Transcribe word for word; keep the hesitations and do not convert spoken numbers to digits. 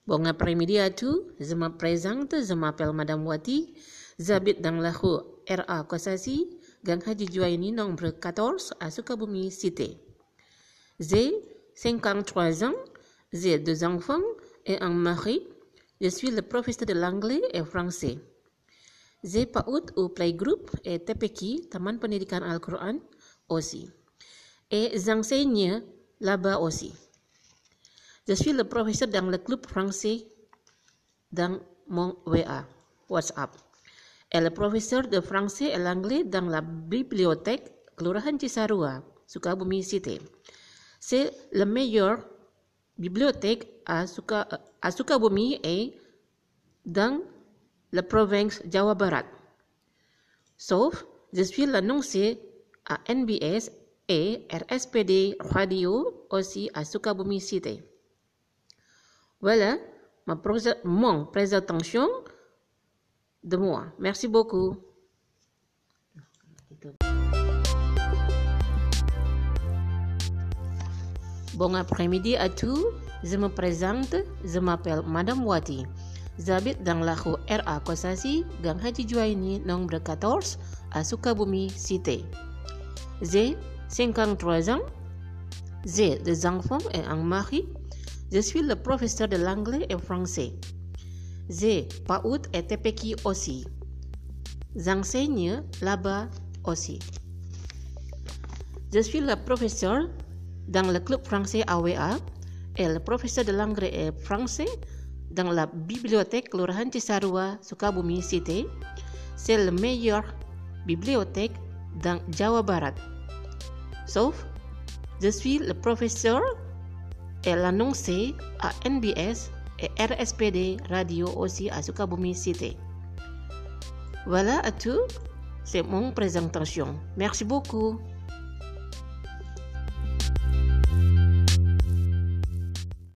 Bon après-midi à tous, je me présente, je m'appelle Madame Wati, j'habite dans la rue R A Kosassi, Gang Haji Juwaini nombre quatorze à Sukabumi Cité. J'ai cinquante-trois ans, j'ai deux enfants et un mari. Je suis le professeur de l'anglais et français. J'ai PAUD ou Playgroup et T P K I, Taman Pendidikan Al-Quran aussi. Et j'enseigne là-bas aussi. Je suis le professeur dans le club français dans mon W A, WhatsApp. Et le professeur de français et l'anglais dans la bibliothèque Kelurahan Cisarua, Sukabumi Cité. C'est la meilleure bibliothèque à, Suka, à Sukabumi et dans la province Jawa Barat. Sauf, je suis l'annoncé à N B S et R S P D Radio aussi à Sukabumi Cité. Voilà ma pré- mon présentation de moi. Merci beaucoup. Bon après-midi à tous. Je me présente. Je m'appelle Madame Wati. J'habite dans la rue R A Kosassi, Gang Haji Juwaini, nombre quatorze, à Sukabumi Cité. J'ai cinquante-trois ans. J'ai deux enfants et un mari. Je suis le professeur de l'anglais et français. J'ai PAUD et T P K I aussi. J'enseigne là-bas aussi. Je suis le professeur dans le club français A W A et le professeur de l'anglais et français dans la bibliothèque Kelurahan Cisarua, Sukabumi Cité. C'est la meilleure bibliothèque dans Jawa Barat. Sauf, je suis le professeur et l'annoncé à N B S et R S P D Radio aussi à Sukabumi Cité. Voilà à tout, c'est mon présentation. Merci beaucoup.